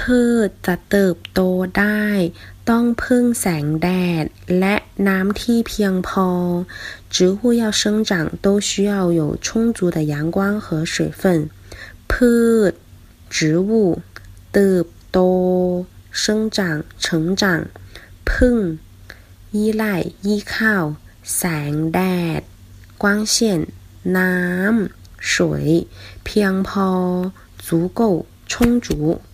พืชจะเติบโตได้ต้องพึ่งแสงแดดและน้ำที่เพียงพอ植物要生长都需要有充足的阳光和水分พืช植物เติบโต生长成长พึ่ง依赖依靠แสงแดด光线น้ำ水เพียงพอ足够充足